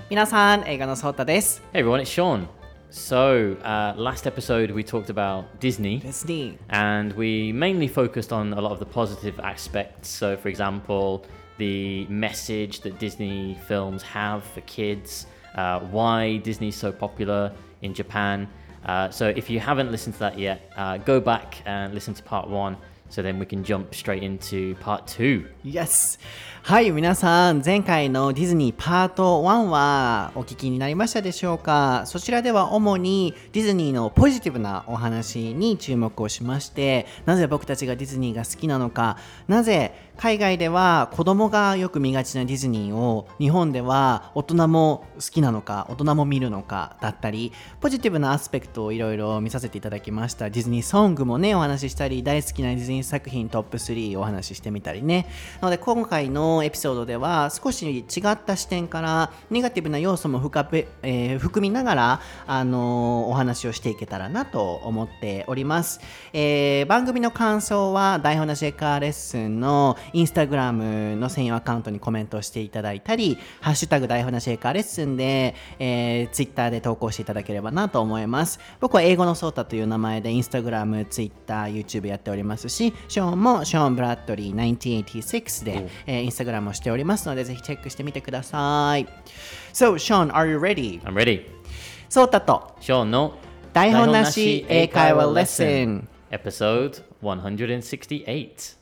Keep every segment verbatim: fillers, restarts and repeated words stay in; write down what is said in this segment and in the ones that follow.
皆さん、映画のソータです。 Hey everyone, it's Sean. So, uh, last episode we talked about Disney. Disney. And we mainly focused on a lot of the positive aspects. So, for example, the message that Disney films have for kids, uh, why Disney's so popular in Japan. Uh, so, if you haven't listened to that yet, uh, go back and listen to part one. So then we can jump straight into part two. Yes! はい、皆さん、前回のディズニーパートワンはお聞きになりましたでしょうか？そちらでは主にディズニーのポジティブなお話に注目をしまして、なぜ僕たちがディズニーが好きなのか、なぜ海外では子供がよく見がちなディズニーを日本では大人も好きなのか、大人も見るのかだったり、ポジティブなアスペクトをいろいろ見させていただきました。ディズニーソングもね、お話ししたり、大好きなディズニー作品トップスリーをお話ししてみたりね。なので今回のエピソードでは少し違った視点からネガティブな要素も深べ、えー、含みながら、あのー、お話をしていけたらなと思っております。えー、番組の感想は台本なしエカーレッスンのインスタグラムの専用アカウントにコメントしていただいたり、ハッシュタグ台本なしエカーレッスンで、えー、ツイッターで投稿していただければなと思います。僕は英語のソータという名前でインスタグラム、ツイッター、YouTube やっておりますし、ショーンもショーン・ブラッドリーせんきゅうひゃくはちじゅうろくで、えー、インスタグラムをしておりますので、ぜひチェックしてみてください。So, Sean, are you ready? I'm ready. ソータと Sean の台本なし英会話レッスン Episode one sixty-eight.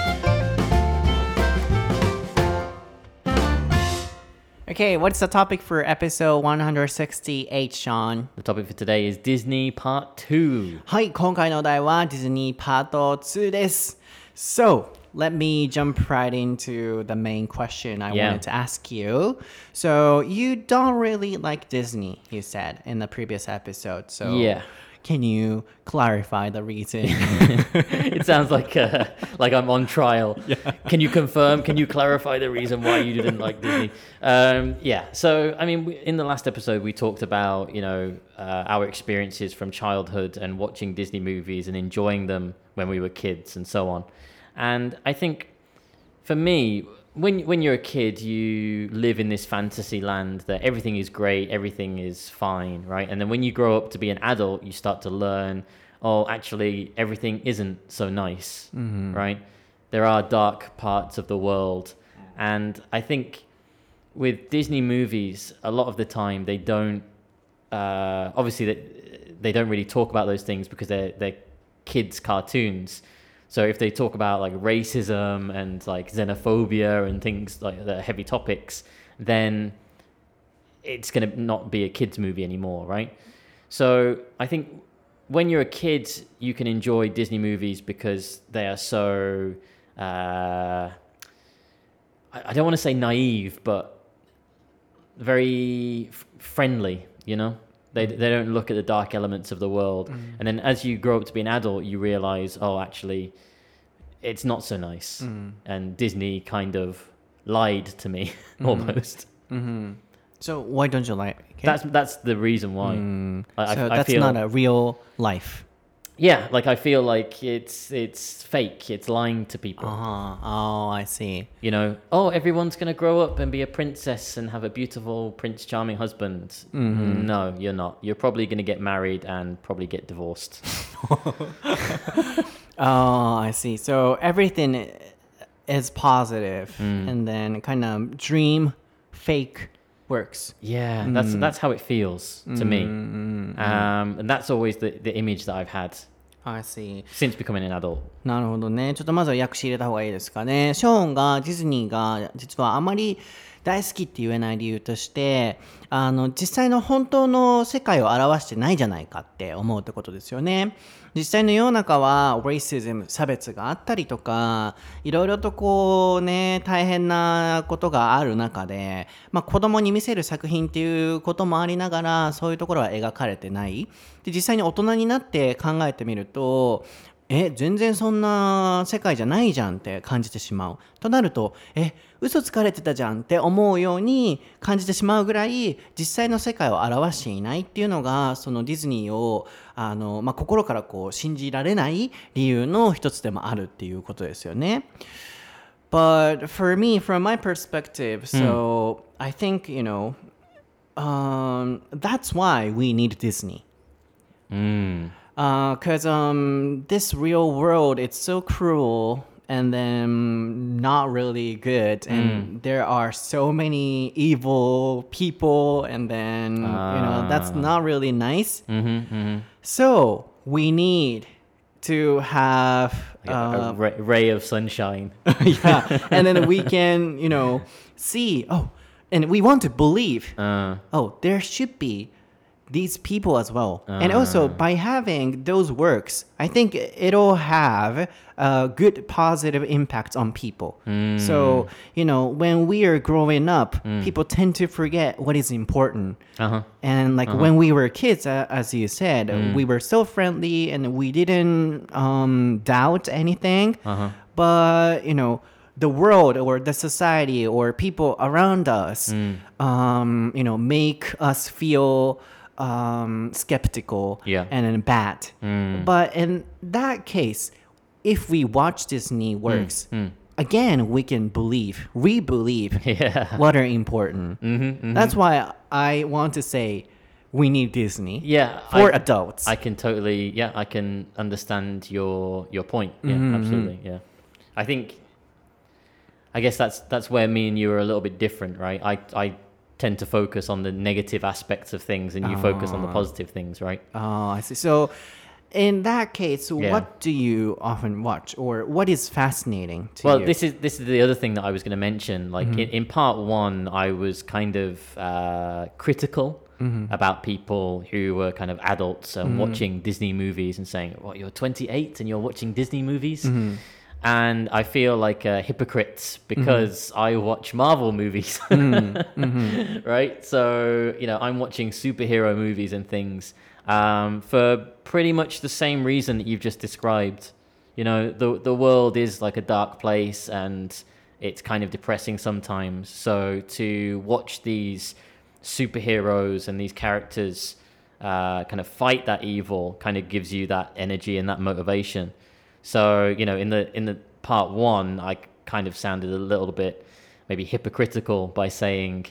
Okay, what's the topic for episode one sixty-eight, Sean? The topic for today is Disney Part two. はい、今回のお題はディズニーパートツーです。So, let me jump right into the main question I Yeah. wanted to ask you. So, you don't really like Disney, you said in the previous episode. So, Yeah. Can you clarify the reason? It sounds like uh, like I'm on trial. Yeah. Can you confirm? Can you clarify the reason why you didn't like Disney? Um, yeah. So, I mean, we, in the last episode, we talked about, you know, uh, our experiences from childhood and watching Disney movies and enjoying them when we were kids and so on. And I think for me, when when you're a kid, you live in this fantasy land that everything is great, everything is fine, right? And then when you grow up to be an adult, you start to learn, oh, actually, everything isn't so nice, mm-hmm. right? There are dark parts of the world. And I think with Disney movies, a lot of the time, they don't, uh, obviously, they, they don't really talk about those things because they're, they're kids' cartoons. So if they talk about like racism and like xenophobia and things like the heavy topics, then it's going to not be a kids movie anymore, right? So I think when you're a kid, you can enjoy Disney movies because they are so, uh, I don't want to say naive, but very f- friendly, you know? They they don't look at the dark elements of the world. Mm. And then as you grow up to be an adult, you realize, oh, actually, it's not so nice. Mm. And Disney kind of lied to me, mm. almost. Mm-hmm. So why don't you like it? That's, that's the reason why. Mm. I, so I, that's I feel, not a real life. Yeah, like I feel like it's it's fake. It's lying to people. Uh-huh. Oh, I see. You know, oh, everyone's going to grow up and be a princess and have a beautiful Prince Charming husband. Mm-hmm. No, you're not. You're probably going to get married and probably get divorced. Oh, I see. So everything is positive mm. and then kind of dream fake works. Yeah, that's mm. that's how it feels to mm, me. Mm, um, and that's always the, the image that I've had. I see. Since becoming an adult. なるほどね。ちょっとまずは訳し入れた方がいいですかね。ショーンがディズニーが実はあまり大好きって言えない理由として、あの実際の本当の世界を表してないじゃないかって思うってことですよね。実際の世の中は racism 差別があったりとか、いろいろとこうね大変なことがある中で、まあ子供に見せる作品っていうこともありながら、そういうところは描かれてない。で実際に大人になって考えてみると。え全然そんな世界じゃないじゃんって感じてしまうとなるとえ嘘つかれてたじゃんって思うように感じてしまうぐらい実際の世界を表していないっていうのがそのディズニーをあの、まあ、心からこう信じられない理由の一つでもあるっていうことですよね。But for me, from my perspective, so、mm. I think, you know, um, that's why we need Disney. Mm. Because um, this real world, it's so cruel and then not really good. And there are so many evil people. And then, you know, that's not really nice. Mm-hmm, mm-hmm. So we need to have Like a- uh, a ray, ray of sunshine. yeah, and then we can, you know, see, oh, and we want to believe, Uh, oh, there should be these people as well. And also by having those works, I think it'll have a good positive impact on people. So, you know, when we are growing up, people tend to forget what is important. uh-huh. And like when we were kids, uh, as you said, we were so friendly and we didn't um, doubt anything. But, you know, the world or the society or people around us, um, you know, make us feel um, skeptical Yeah. and then bad. But in that case, if we watch Disney works, again, we can believe, re-believe Yeah. what are important. Mm-hmm, mm-hmm. That's why I want to say we need Disney Yeah. for I, adults. I can totally, yeah, I can understand your your point. Yeah, absolutely. Yeah. I think, I guess that's that's where me and you are a little bit different, right? I, I tend to focus on the negative aspects of things and you focus on the positive things, right? Oh, I see. So, in that case, Yeah. what do you often watch, or what is fascinating to Well, you? this is this is the other thing that I was going to mention. Like in, in part one, I was kind of uh, critical about people who were kind of adults and watching Disney movies and saying, "What, you're twenty-eight and you're watching Disney movies?" And I feel like a hypocrite because I watch Marvel movies, right? So you know, I'm watching superhero movies and things um, for pretty much the same reason that you've just described. You know, the the world is like a dark place and it's kind of depressing sometimes. So to watch these superheroes and these characters uh, kind of fight that evil kind of gives you that energy and that motivation. So, you know, in the in the part one, I kind of sounded a little bit maybe hypocritical by saying,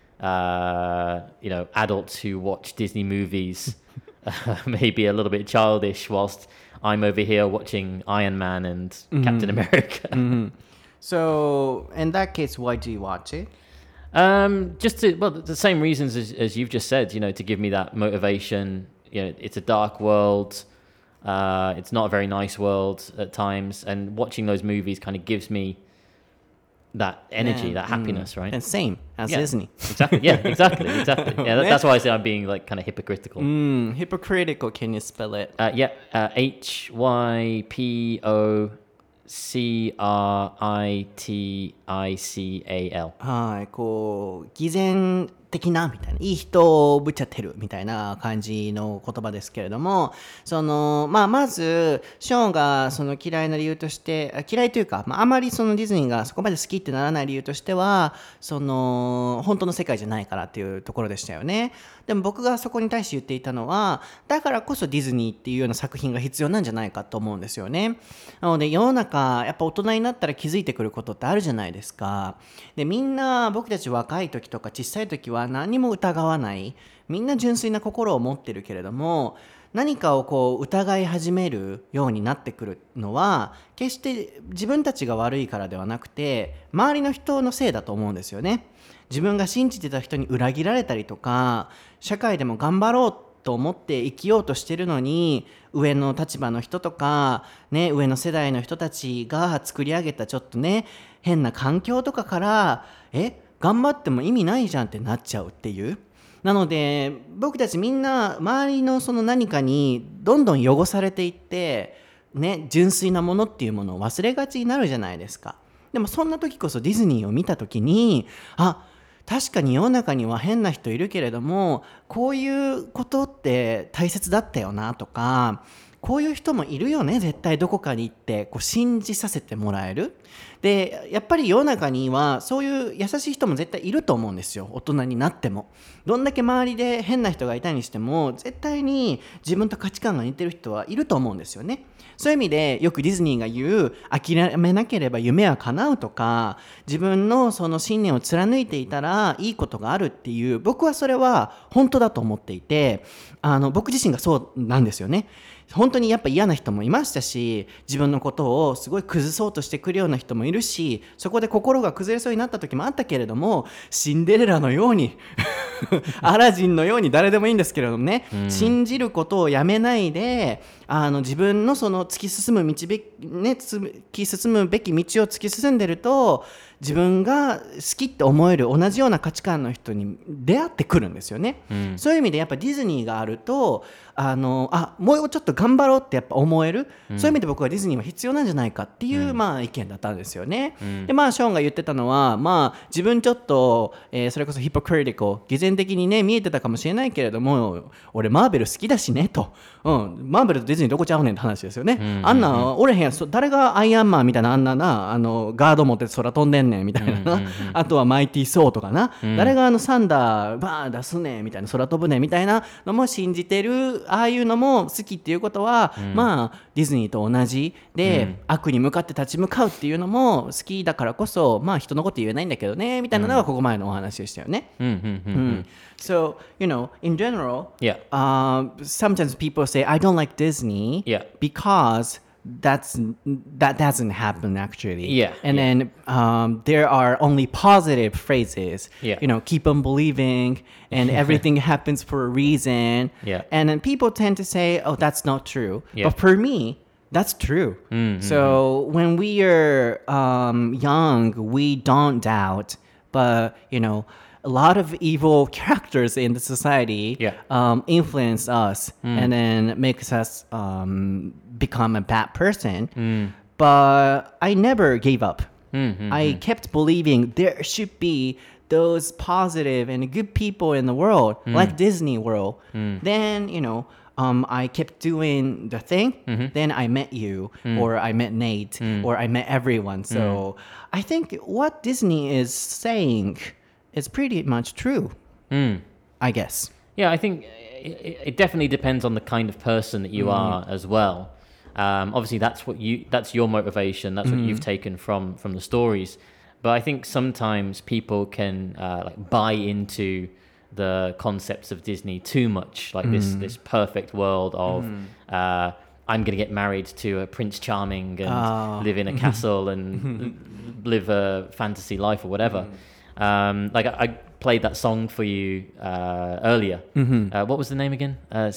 uh, you know, adults who watch Disney movies uh, maybe a little bit childish whilst I'm over here watching Iron Man and Captain America. So, in that case, why do you watch it? Um, just to, well, the same reasons as, as you've just said, you know, to give me that motivation. You know, it's a dark world. Uh, it's not a very nice world at times. And watching those movies kind of gives me that energy, Yeah, that happiness, right? And same as Yeah. Disney. Exactly. Yeah, exactly. Exactly. Yeah, that, that's why I say I'm being like kind of hypocritical. Mm, hypocritical, can you spell it? Uh, yeah, uh, H Y P O C R I T I C A L。 はい、こう、偽善的なみたいな、いい人をぶっちゃってるみたいな感じの言葉ですけれども、その、まあ、まず、ショーンがその嫌いな理由として、あ嫌いというか、まあ、あまりそのディズニーがそこまで好きってならない理由としては、その、本当の世界じゃないからっていうところでしたよね。でも僕がそこに対して言っていたのは、だからこそディズニーっていうような作品が必要なんじゃないかと思うんですよね。なので世の中、やっぱ大人になったら気づいてくることってあるじゃないですか。で、みんな僕たち若い時とか小さい時は何も疑わない。みんな純粋な心を持ってるけれども、何かをこう疑い始めるようになってくるのは、決して自分たちが悪いからではなくて、周りの人のせいだと思うんですよね。自分が信じてた人に裏切られたりとか、社会でも頑張ろうと思って生きようとしてるのに、上の立場の人とか、ね、上の世代の人たちが作り上げたちょっとね、変な環境とかから、え、頑張っても意味ないじゃんってなっちゃうっていう。なので、僕たちみんな周りのその何かにどんどん汚されていって、ね、純粋なものっていうものを忘れがちになるじゃないですか。でもそんな時こそディズニーを見た時に、あ、確かに世の中には変な人いるけれども、こういうことって大切だったよなとか、 こういう人もいるよね絶対どこかに行ってこう信じさせてもらえる。でやっぱり世の中にはそういう優しい人も絶対いると思うんですよ。大人になってもどんだけ周りで変な人がいたにしても絶対に自分と価値観が似てる人はいると思うんですよね。そういう意味でよくディズニーが言う諦めなければ夢は叶うとか自分のその信念を貫いていたらいいことがあるっていう僕はそれは本当だと思っていてあの僕自身がそうなんですよね。本当にやっぱ嫌な人もいましたし自分のことをすごい崩そうとしてくるような人もいるしそこで心が崩れそうになった時もあったけれどもシンデレラのようにアラジンのように誰でもいいんですけれどもね、うん、信じることをやめないであの自分のその突き進む道べ、ね、突き進むべき道を突き進んでると自分が好きって思える同じような価値観の人に出会ってくるんですよね、うん、そういう意味でやっぱディズニーがあるとあのあもうちょっと頑張ろうってやっぱ思える、うん、そういう意味で僕はディズニーは必要なんじゃないかっていう、うん、まあ意見だったんですよね、うん、でまあショーンが言ってたのはまあ自分ちょっと、えー、それこそヒポクリティカル偽善的にね見えてたかもしれないけれども俺マーベル好きだしねと、うん、マーベルとディズニーどこちゃうねんって話ですよね、うんうんうん、あんなおれへん誰がアイアンマンみたいなあんななあのガード持って空飛んでんねんみたいな、うんうんうん、あとはマイティーソーとかな、うん、誰があのサンダーバー出すねんみたいな空飛ぶねんみたいなのも信じてるああいうのも好きっていうことは、うん、まあディズニーと同じで、うん、悪に向かって立ち向かうっていうのも好きだからこそまあ人のこと言えないんだけどねみたいなのがここ前のお話でしたよね、うんうんうんうん、So you know in general、yeah. uh, sometimes people say I don't like Disney、yeah. because that's that doesn't happen actually, yeah and yeah. then um there are only positive phrases, yeah. you know keep on believing and everything happens for a reason, yeah. and then people tend to say oh that's not true, yeah. but for me that's true, mm-hmm. So when we are um young we don't doubt, but you know a lot of evil characters in the society yeah. um, influence us mm. and then makes us um, become a bad person. Mm. But I never gave up. Mm-hmm. I kept believing there should be those positive and good people in the world, mm. like Disney World. Mm. Then, you know, um, I kept doing the thing. Mm-hmm. Then I met you, mm. or I met Nate, mm. or I met everyone. So mm. I think what Disney is saying it's pretty much true, mm. I guess. Yeah, I think it, it definitely depends on the kind of person that you mm. are as well. Um, obviously, that's what you that's your motivation. That's what mm. you've taken from from the stories. But I think sometimes people can uh, like buy into the concepts of Disney too much, like mm. this this perfect world of. Mm. Uh, I'm going to get married to a Prince Charming and oh. live in a castle and live a fantasy life or whatever. Mm. Um, like I, I played that song for you uh, earlier. Mm-hmm. Uh, what was the name again? Uh,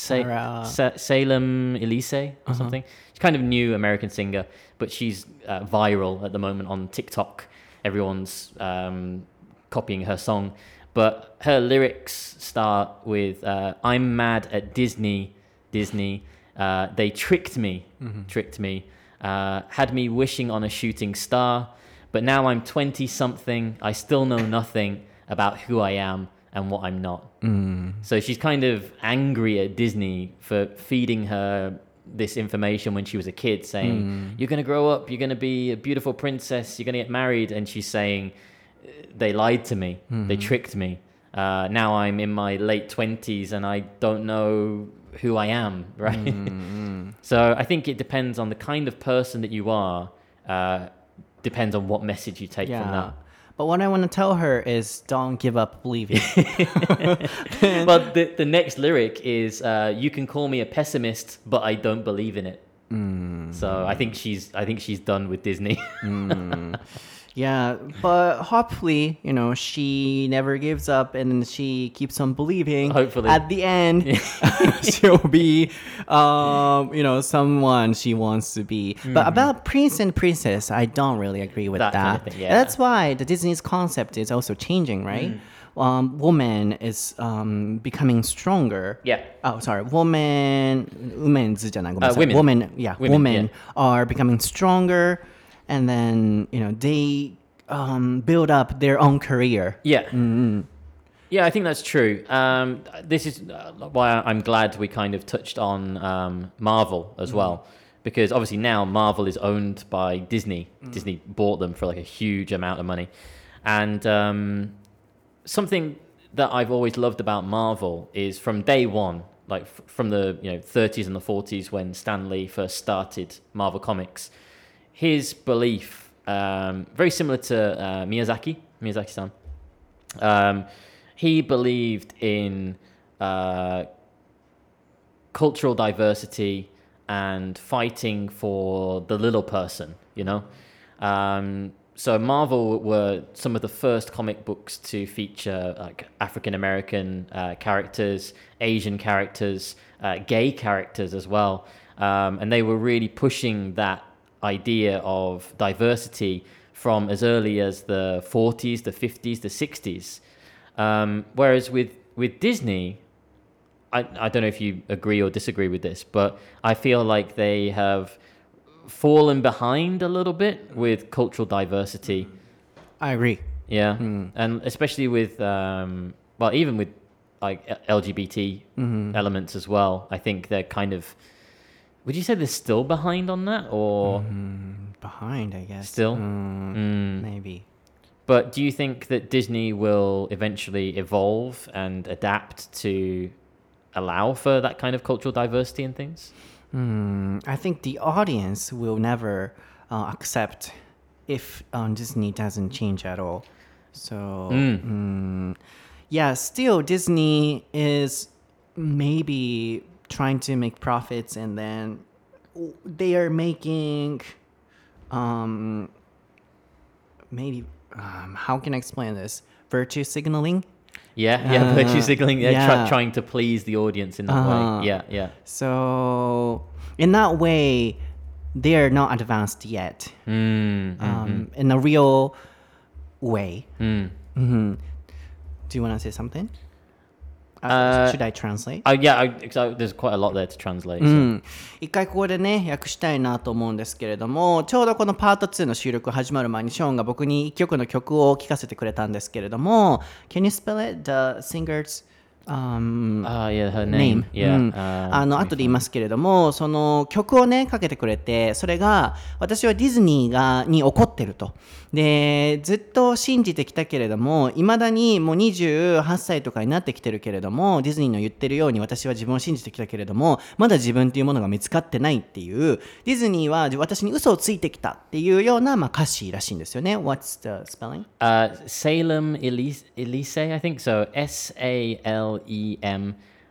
Sa- Sa- Salem Elise or uh-huh. something. She's kind of new American singer, but she's uh, viral at the moment on TikTok. Everyone's um, copying her song, but her lyrics start with uh, "I'm mad at Disney, Disney. Uh, they tricked me, mm-hmm. tricked me, uh, had me wishing on a shooting star." But now I'm twenty-something, I still know nothing about who I am and what I'm not. Mm. So she's kind of angry at Disney for feeding her this information when she was a kid, saying, mm. you're going to grow up, you're going to be a beautiful princess, you're going to get married. And she's saying, they lied to me, mm. they tricked me. Uh, now I'm in my late twenties and I don't know who I am, right? Mm. So I think it depends on the kind of person that you are. Uh, Depends on what message you take yeah. from that. But what I want to tell her is don't give up believing. But the, the next lyric is uh, you can call me a pessimist, but I don't believe in it. Mm. So I think she's I think she's done with Disney. mm. Yeah, but hopefully, you know, she never gives up and she keeps on believing. Hopefully. At the end, she'll be, um, you know, someone she wants to be. Mm-hmm. But about Prince and Princess, I don't really agree with that. that. Kind of thing, yeah. That's why the Disney's concept is also changing, right? Mm. Um, woman is um, becoming stronger. Yeah. Oh, sorry. Woman, women's, uh, women. Women, yeah, women, women yeah. are becoming stronger. And then, you know, they um, build up their own career. Yeah. Mm-hmm. Yeah, I think that's true. Um, this is why I'm glad we kind of touched on um, Marvel as well, because obviously now Marvel is owned by Disney. Disney bought them for like a huge amount of money, and um, something that I've always loved about Marvel is from day one, like f- from the you know thirties and the forties when Stan Lee first started Marvel Comics, his belief, um, very similar to uh, Miyazaki, Miyazaki-san. Um, he believed in uh, cultural diversity and fighting for the little person, you know. Um, so Marvel were some of the first comic books to feature like African American uh, characters, Asian characters, uh, gay characters as well, um, and they were really pushing that idea of diversity from as early as the forties, the fifties, the sixties. Um, whereas with, with Disney, I, I don't know if you agree or disagree with this, but I feel like they have fallen behind a little bit with cultural diversity. I agree. Yeah. And especially with, um, well, even with like L G B T elements as well, I think they're kind of, would you say they're still behind on that or Behind, I guess. still? Mm, Mm. Maybe. But do you think that Disney will eventually evolve and adapt to allow for that kind of cultural diversity and things? Mm, I think the audience will never uh, accept if um, Disney doesn't change at all. So, mm, yeah, still Disney is maybe trying to make profits, and then they are making um, maybe um, how can I explain this? Virtue signaling. Yeah, yeah, Uh, virtue signaling, yeah, yeah. try, trying to please the audience in that Uh-huh. way. Yeah, yeah. So in that way, they are not advanced yet. Mm, Um, in a real way. mm. hmm Do you want to say something? Uh, Uh, should I translate? Uh, yeah, I, 'cause I- there's quite a lot there to translate. う So. ん、一回ここでね訳したいなと思うんですけれども、ちょうどこのパートツーの収録始まる前にショーンが僕に一曲の曲を聴かせてくれたんですけれども、 Can you spell it? The singer's um, Ah, yeah, her name. name? Yeah. うん um, あの後で言いますけれども、その曲をねかけてくれて、それが私はディズニーがに怒ってると。でずっと信じてきたけれども、いまだにもうにじゅうはっさいとかになってきてるけれども、ディズニーの言ってるように私は自分を信じてきたけれども、まだ自分というものが見つかってないっていう、ディズニーは私に嘘をついてきたっていうような、まあ、歌詞らしいんですよね。 What's the spelling? Uh, Salem Elise, Elise, I think so. S A L E M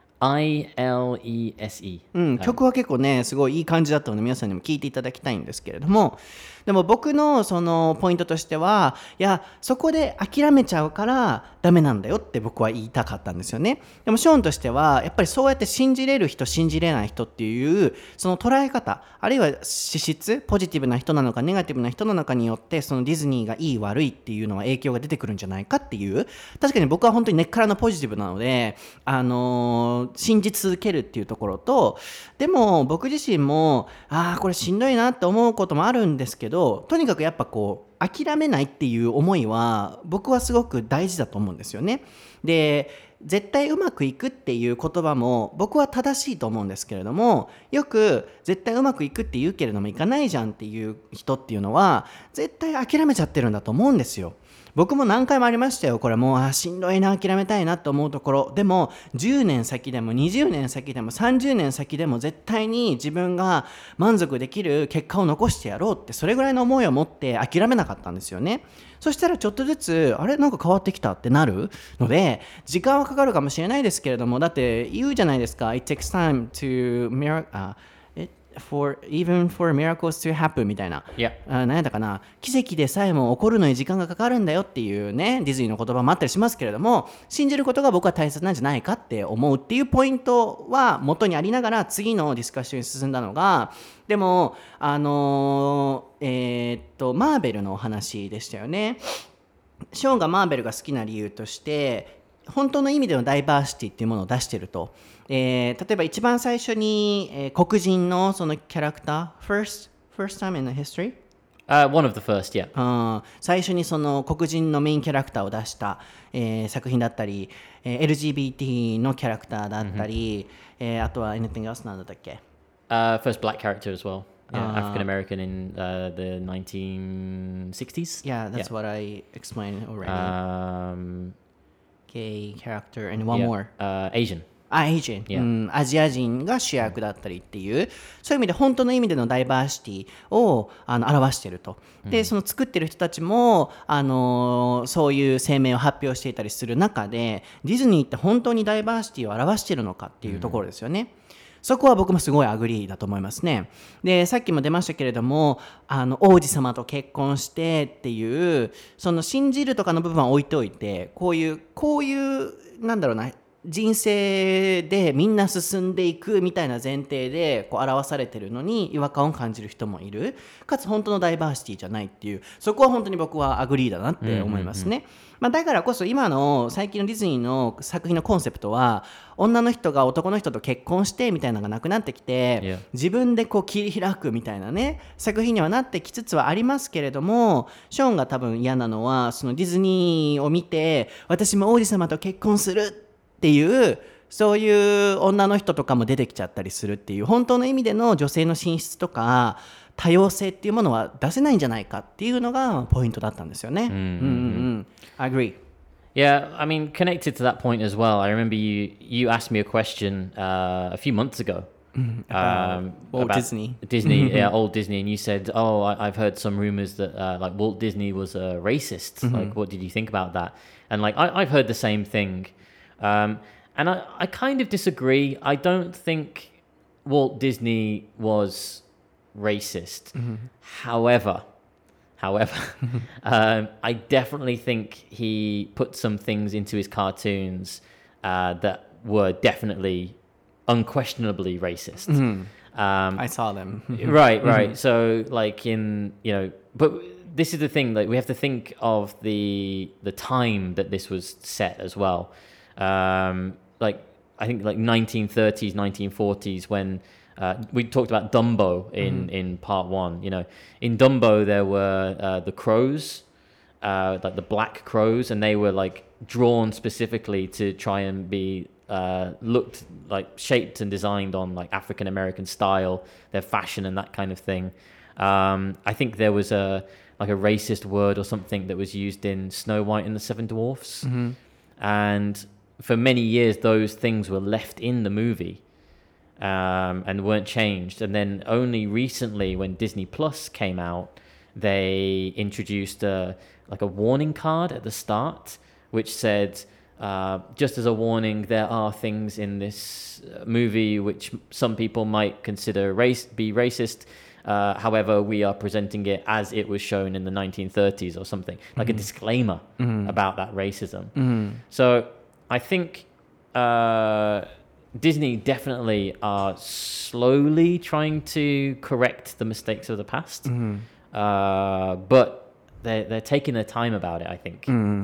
I L E S E. うん、曲は結構ねすごいいい感じだったので皆さんにも聴いていただきたいんですけれども、でも僕のそのポイントとしては、いやそこで諦めちゃうからダメなんだよって僕は言いたかったんですよね。でもショーンとしてはやっぱりそうやって信じれる人信じれない人っていうその捉え方、あるいは資質、ポジティブな人なのかネガティブな人なのかによってそのディズニーがいい悪いっていうのは影響が出てくるんじゃないかっていう、確かに僕は本当に根っからのポジティブなので、あのー、信じ続けるっていうところと、でも僕自身もああこれしんどいなって思うこともあるんですけど、とにかくやっぱこう諦めないっていう思いは僕はすごく大事だと思うんですよね。で絶対うまくいくっていう言葉も僕は正しいと思うんですけれども、よく絶対うまくいくって言うけれどもいかないじゃんっていう人っていうのは絶対諦めちゃってるんだと思うんですよ。僕も何回もありましたよ。これもうあしんどいな、諦めたいなと思うところでも、じゅうねん先でもにじゅうねん先でもさんじゅうねん先でも絶対に自分が満足できる結果を残してやろうって、それぐらいの思いを持って諦めなかったんですよね。そしたらちょっとずつあれなんか変わってきたってなるので、時間はかかるかもしれないですけれども、だって言うじゃないですか。 It takes time to mir- uh, it, for even for miracles to happen みたいな、 Yeah. あ何やったかな、奇跡でさえも起こるのに時間がかかるんだよっていうね、ディズニーの言葉もあったりしますけれども、信じることが僕は大切なんじゃないかって思うっていうポイントは元にありながら、次のディスカッションに進んだのが、でもあのー、えー、っとマーベルのお話でしたよね。ショーンがマーベルが好きな理由として本当の意味でのダイバーシティっていうものを出してると、えー、例えば一番最初に、えー、黒人のそのキャラクター first, first time in the history Uh, one of the first, yeah. うん、最初にその黒人のメインキャラクターを出した、えー作品だったり、えー エルジービーティー のキャラクターだったり、えーあとは anything else なんだったっけ Uh, first black character as well. Yeah, African American in uh, the nineteen sixties. Yeah, that's what I explained already. Um, Gay character and one yeah, more. Uh, Asian. あ、エイジン、 Yeah. うん、アジア人が主役だったりっていう、そういう意味で本当の意味でのダイバーシティをあの表していると。で、その作ってる人たちも、あのーそういう声明を発表していたりする中で、ディズニーって本当にダイバーシティを表しているのかっていうところですよね。そこは僕もすごいアグリーだと思いますね。で、さっきも出ましたけれども、あの王子様と結婚してっていう、その信じるとかの部分は置いておいて、こういうこういうなんだろうな。人生でみんな進んでいくみたいな前提でこう表されてるのに違和感を感じる人もいる。かつ本当のダイバーシティじゃないっていう、そこは本当に僕はアグリーだなって思いますね。まあ、だからこそ今の最近のディズニーの作品のコンセプトは女の人が男の人と結婚してみたいなのがなくなってきて、 Yeah. 自分でこう切り開くみたいなね作品にはなってきつつはありますけれども、ショーンが多分嫌なのはそのディズニーを見て私も王子様と結婚するっていうそういう女の人とかも出てきちゃったりするっていう、本当の意味での女性の進出とか多様性っていうものは出せないんじゃないかっていうのがポイントだったんですよね。うんうんうん。I agree. Yeah, I mean, connected to that point as well, I remember you you asked me a question uh, a few months ago. Um, Walt about Disney. Disney, yeah, old Disney, and you said, "Oh, I, I've heard some rumors that uh, like Walt Disney was a racist. Like, what did you think about that?" And like, I, I've heard the same thing, um, and I, I kind of disagree. I don't think Walt Disney was racist. However, however, um, I definitely think he put some things into his cartoons uh, that were definitely unquestionably racist. Um, I saw them. right, right. So, like in you know, but this is the thing. Like we have to think of the the time that this was set as well. Um, like I think like nineteen thirties, nineteen forties when. Uh, we talked about Dumbo in, mm-hmm. in part one. You know, in Dumbo there were uh, the crows, uh, like the black crows, and they were like drawn specifically to try and be uh, looked like shaped and designed on like African American style, their fashion and that kind of thing. Um, I think there was a like a racist word or something that was used in Snow White and the Seven Dwarfs, mm-hmm. and for many years those things were left in the movie. Um, and weren't changed. And then only recently, when Disney Plus came out, they introduced a, like a warning card at the start, which said, uh, just as a warning, there are things in this movie which some people might consider race be racist. Uh, however, we are presenting it as it was shown in the nineteen thirties or something, like mm-hmm. a disclaimer mm-hmm. about that racism. Mm-hmm. So I think... Uh, Disney definitely are slowly trying to correct the mistakes of the past, mm-hmm. uh, but they're, they're taking their time about it, I think. うんうんうん、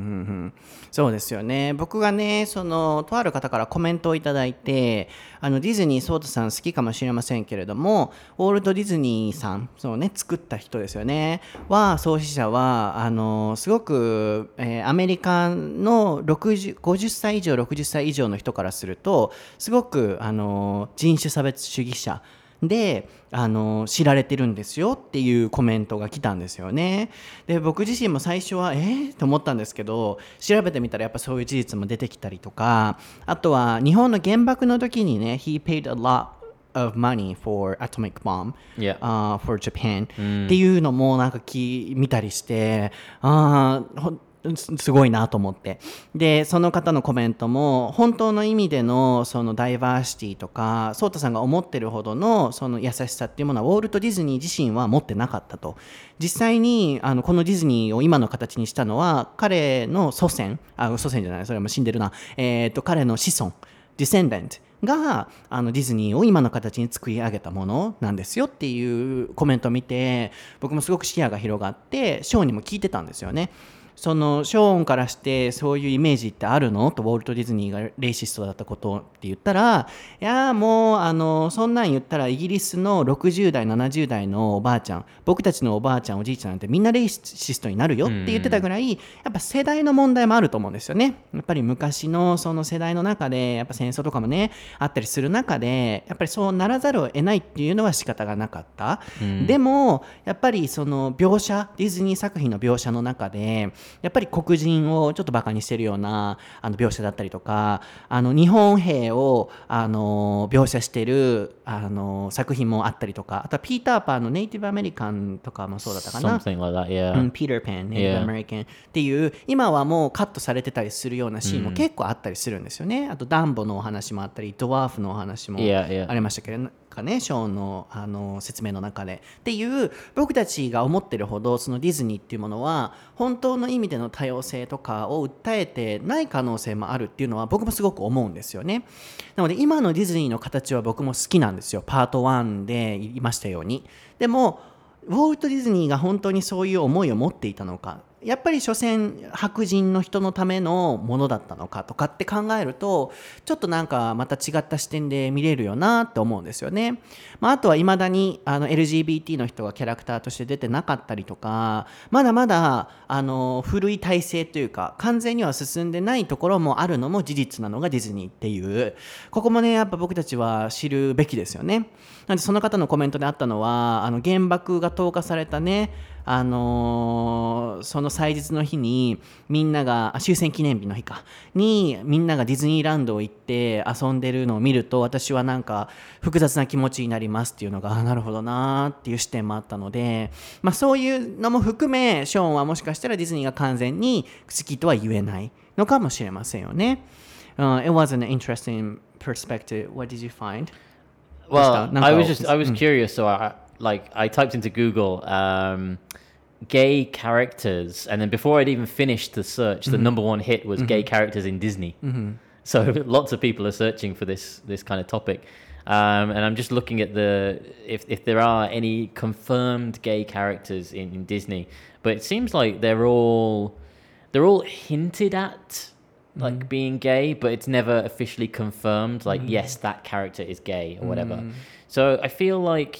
そうですよね。僕がね、そのとある方からコメントをいただいて、あのディズニーソータさん好きかもしれませんけれども、ウォルト・ディズニーさん、そうね、作った人ですよね。は創始者はあのすごく、えー、アメリカのろくじゅう、ごじゅっさい以上、ろくじゅっさい以上の人からすると、すごくあの人種差別主義者。であの知られてるんですよっていうコメントが来たんですよね。で僕自身も最初はえー、と思ったんですけど、調べてみたらやっぱそういう事実も出てきたりとか、あとは日本の原爆の時にね He paid a lot of money for atomic bomb、 yeah. uh, for Japan、うん、っていうのもなんかき見たりして、あーすごいなと思って、でその方のコメントも本当の意味でのそのダイバーシティとかソータさんが思ってるほどのその優しさっていうものはウォルト・ディズニー自身は持ってなかったと。実際にあのこのディズニーを今の形にしたのは彼の祖先、あ祖先じゃない、それはもう死んでるな、えー、と彼の子孫ディセンデントがあのディズニーを今の形に作り上げたものなんですよっていうコメントを見て、僕もすごく視野が広がってショーにも聞いてたんですよね。 そのショーンからしてそういうイメージってあるのとウォルト・ディズニーがレイシストだったことって言ったら、いやもうあのそんなん言ったらイギリスのろくじゅう代ななじゅう代のおばあちゃん、僕たちのおばあちゃんおじいちゃんなんてみんなレイシストになるよって言ってたぐらい、やっぱ世代の問題もあると思うんですよね。やっぱり昔のその世代の中でやっぱ戦争とかもねあったりする中で、やっぱりそうならざるを得ないっていうのは仕方がなかった、うん、でもやっぱりその描写、ディズニー作品の描写の中でやっぱり黒人をちょっとバカにしてるようなあの描写だったりとか、あの日本兵をあの描写してるあの作品もあったりとか、あとはピーターパンのネイティブアメリカンとかもそうだったかな、 Something like that, yeah. うん、ピーターパンネイティブアメリカンっていう今はもうカットされてたりするようなシーンも結構あったりするんですよね、うん、あとダンボのお話もあったりドワーフのお話もありましたけど、かね、ショーン の, あの説明の中でっていう、僕たちが思ってるほどそのディズニーっていうものは本当の意味での多様性とかを訴えてない可能性もあるっていうのは僕もすごく思うんですよね。なので今のディズニーの形は僕も好きなんですよ、パートワンで言いましたように。でもウォルト・ディズニーが本当にそういう思いを持っていたのか、やっぱり所詮白人の人のためのものだったのかとかって考えると、ちょっとなんかまた違った視点で見れるよなって思うんですよね。まあ、あとはいまだにあの エルジービーティー の人がキャラクターとして出てなかったりとか、まだまだあの古い体制というか完全には進んでないところもあるのも事実なのがディズニーっていう、ここもねやっぱ僕たちは知るべきですよね。なんでその方のコメントであったのは、あの原爆が投下されたね、あのー、その祭日の日にみんなが終戦記念日の日かにみんながディズニーランドを行って遊んでるのを見ると、私はなんか複雑な気持ちになりますっていうのが、あなるほどなっていう視点もあったので、まあ、そういうのも含めショーンはもしかしたらディズニーが完全に好きとは言えないのかもしれませんよね。uh, It was an interesting perspective. What did you find? Well, I was just I was curious, so I like I typed into Google um, gay characters, and then before I'd even finished the search, the mm-hmm. number one hit was mm-hmm. gay characters in Disney. Mm-hmm. So lots of people are searching for this this kind of topic, um, and I'm just looking at the if if there are any confirmed gay characters in, in Disney, but it seems like they're all they're all hinted at. Like mm. being gay, but it's never officially confirmed, like mm. yes, that character is gay or whatever. Mm. So I feel like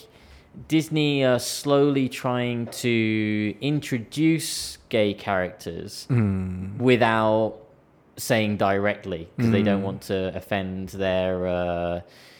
Disney are slowly trying to introduce gay characters mm. without saying directly, because mm. they don't want to offend their uh,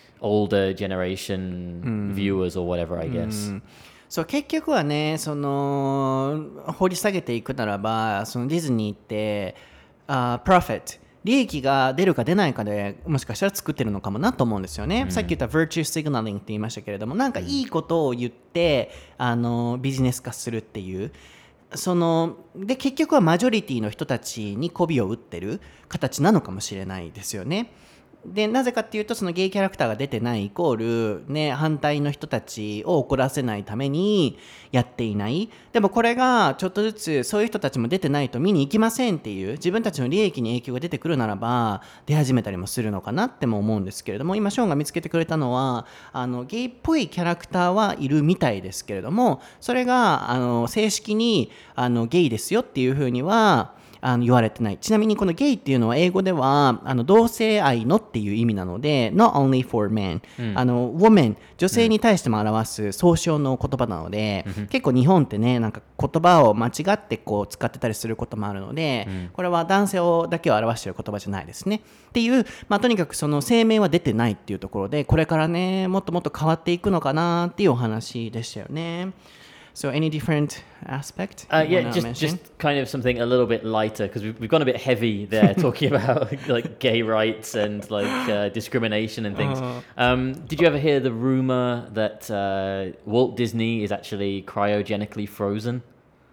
older generation mm. viewers or whatever, I guess. Mm. そう結局はね、その掘り下げていくならば、そのディズニーってUh, profit 利益が出るか出ないかでもしかしたら作ってるのかもなと思うんですよね、うん、さっき言った virtue signaling って言いましたけれども、なんかいいことを言ってあのビジネス化するっていう、そので結局はマジョリティの人たちに媚びを打ってる形なのかもしれないですよね。でなぜかっていうと、そのゲイキャラクターが出てないイコール、ね、反対の人たちを怒らせないためにやっていない。でもこれがちょっとずつそういう人たちも出てないと見に行きませんっていう、自分たちの利益に影響が出てくるならば出始めたりもするのかなっても思うんですけれども、今ショーンが見つけてくれたのはあのゲイっぽいキャラクターはいるみたいですけれども、それがあの正式にあのゲイですよっていうふうにはあの言われてない。ちなみにこのゲイっていうのは英語ではあの同性愛のっていう意味なので not only for men、うん、あの woman 女性に対しても表す総称の言葉なので、うん、結構日本ってねなんか言葉を間違ってこう使ってたりすることもあるので、うん、これは男性をだけを表している言葉じゃないですねっていう、まあ、とにかくその声明は出てないっていうところで、これからねもっともっと変わっていくのかなっていうお話でしたよね。So any different aspect? Uh, yeah, just mention? just kind of something a little bit lighter, because we've, we've gone a bit heavy there talking about like gay rights and like uh, discrimination and things. Uh, um, did you ever hear the rumor that uh, Walt Disney is actually cryogenically frozen?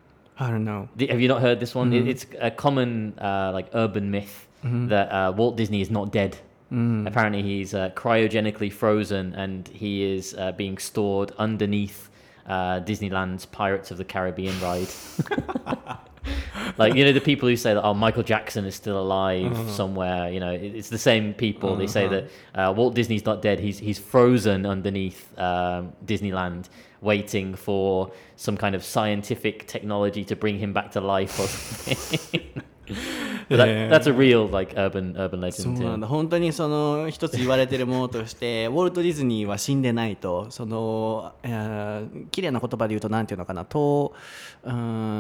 I don't know. Have you not heard this one? Mm-hmm. It's a common uh, like urban myth mm-hmm. that uh, Walt Disney is not dead. Mm. Apparently he's uh, cryogenically frozen and he is uh, being stored underneath Uh, Disneyland's Pirates of the Caribbean ride. Like, you know, the people who say that, oh, Michael Jackson is still alive uh-huh. somewhere, you know, it, it's the same people. Uh-huh. They say that uh, Walt Disney's not dead. He's, he's frozen underneath um, Disneyland, waiting for some kind of scientific technology to bring him back to life or something. that, that's a real like urban urban legend. そうなんだ。本当にその一つ言われてるものとしてウォルト・ディズニーは死んでないと、その、えー、綺麗な言葉で言うとなんていうのかなと、うん、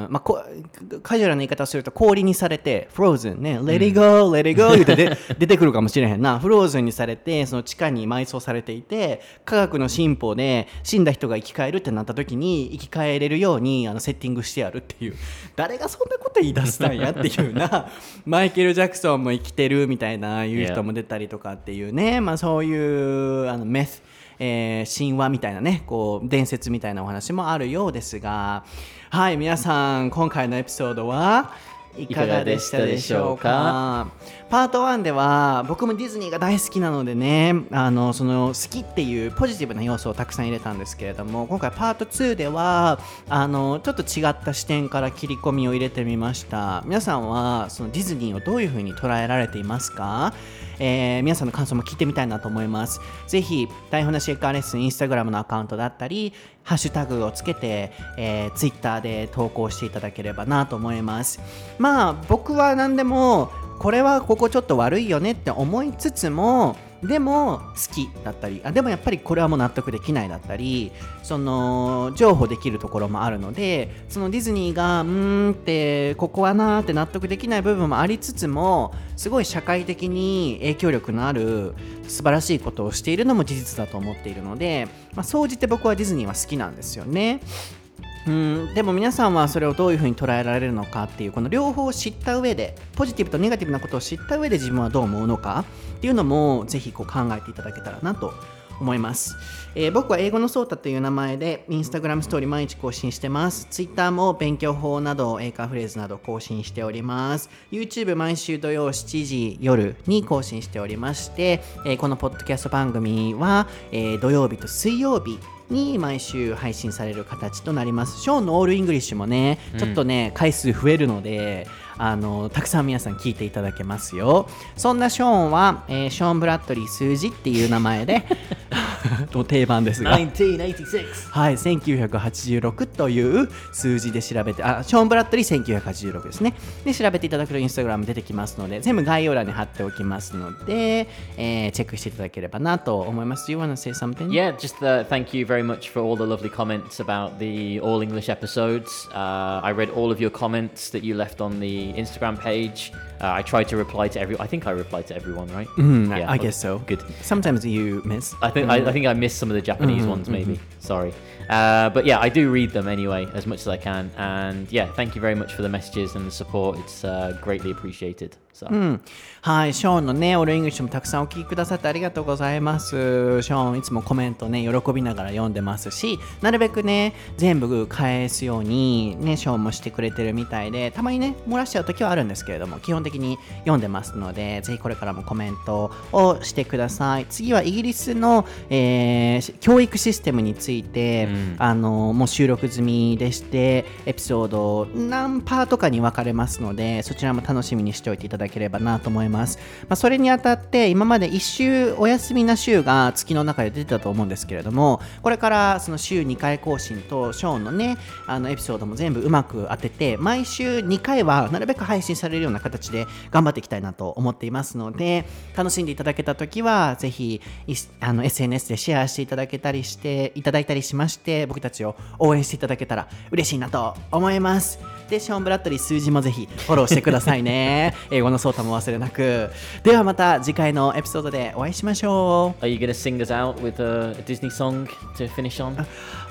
まあこカジュアルな言い方をすると氷にされてフローズンね、Let it go, Let it go 言ってで出てくるかもしれへんな。フローズンにされてその地下に埋葬されていて、科学の進歩で死んだ人が生き返るってなった時に生き返れるようにあのセッティングしてやるっていう、誰がそんなこと言い出したんやっていうな。マイケル・ジャクソンも生きてるみたいないう人も出たりとかっていうね、まあ、そういうあのメス、えー、神話みたいなね、こう伝説みたいなお話もあるようですが、はい、皆さん今回のエピソードはいかがでしたでしょうか。パートワンでは僕もディズニーが大好きなのでね、あのその好きっていうポジティブな要素をたくさん入れたんですけれども、今回パートツーではあのちょっと違った視点から切り込みを入れてみました。皆さんはそのディズニーをどういう風に捉えられていますか？えー、皆さんの感想も聞いてみたいなと思います。ぜひ台本なしエッカーレッスンインスタグラムのアカウントだったりハッシュタグをつけて、えー、ツイッターで投稿していただければなと思います。まあ僕は何でもこれはここちょっと悪いよねって思いつつも、でも好きだったり、あでもやっぱりこれはもう納得できないだったり、その譲歩できるところもあるので、そのディズニーがうーんってここはなーって納得できない部分もありつつも、すごい社会的に影響力のある素晴らしいことをしているのも事実だと思っているので、まあ、総じて僕はディズニーは好きなんですよね。うん、でも皆さんはそれをどういうふうに捉えられるのかっていう、この両方を知った上で、ポジティブとネガティブなことを知った上で自分はどう思うのかっていうのもぜひこう考えていただけたらなと思います。えー、僕は英語のソータという名前でインスタグラムストーリー毎日更新してます。ツイッターも勉強法など英会話フレーズなど更新しております。 YouTube 毎週土曜しちじ夜に更新しておりまして、えー、このポッドキャスト番組は、えー、土曜日と水曜日に毎週配信される形となります。ショーンのオールイングリッシュもね、ちょっとね、うん、回数増えるので、あのたくさん皆さん聞いていただけますよ。そんなショーンは、えー、ショーン・ブラッドリー数字っていう名前でもう定番ですが、 せんきゅうひゃくはちじゅうろく、 はい、せんきゅうひゃくはちじゅうろくという数字で調べて、あ、ショーン・ブラッドリーせんきゅうひゃくはちじゅうろくですね。で調べていただくとインスタグラム出てきますので、全部概要欄に貼っておきますので、えー、チェックしていただければなと思います。Do you want to say something? Yeah, just uh, thank you very much for all the lovely comments about the all English episodes. Uh, I read all of your comments that you left on the Instagram page. Uh, I tried to reply to every. I think I replied to everyone, right? Mm, yeah, I guess so. Good. Sometimes you miss. I think mm. I, I think I missed some of the Japanese mm-hmm, ones, maybe. Mm-hmm. Sorry. Uh, but yeah, I do read them anyway, as much as I can. And yeah, thank you very much for the messages and the support. It's uh, greatly appreciated. So. うん、はい、ショーンのね、オールイングリッシュもたくさんお聞きくださってありがとうございます。ショーンいつもコメントね、喜びながら読んでますし、なるべくね、全部返すようにね、ショーンもしてくれてるみたいで、たまにね、漏らしちゃう時はあるんですけれども、基本的に読んでますので、ぜひこれからもコメントをしてください。次はイギリスの、えー、教育システムについて、うん、あのもう収録済みでして、エピソード何パートかに分かれますので、そちらも楽しみにしておいていただければなと思います。まあ、それにあたって今までいち週お休みな週が月の中で出てたと思うんですけれども、これからその週にかい更新とショーンのね、あのエピソードも全部うまく当てて、毎週にかいはなるべく配信されるような形で頑張っていきたいなと思っていますので、楽しんでいただけたときはぜひあの エスエヌエス でシェアしていただけたりしていただいたりしまして、僕たちを応援していただけたら嬉しいなと思います。で、ショーン・ブラッドリー数字もぜひフォローしてくださいね。英語のソータも忘れなく。ではまた次回のエピソードでお会いしましょう。 Are you going to sing us out with a, a Disney song to finish on?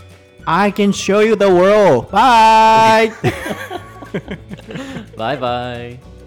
I can show you the world. Bye. Bye bye.